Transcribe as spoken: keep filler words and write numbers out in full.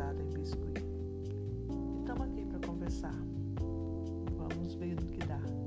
viciada em biscuit. E estamos aqui para conversar. Vamos ver no que dá.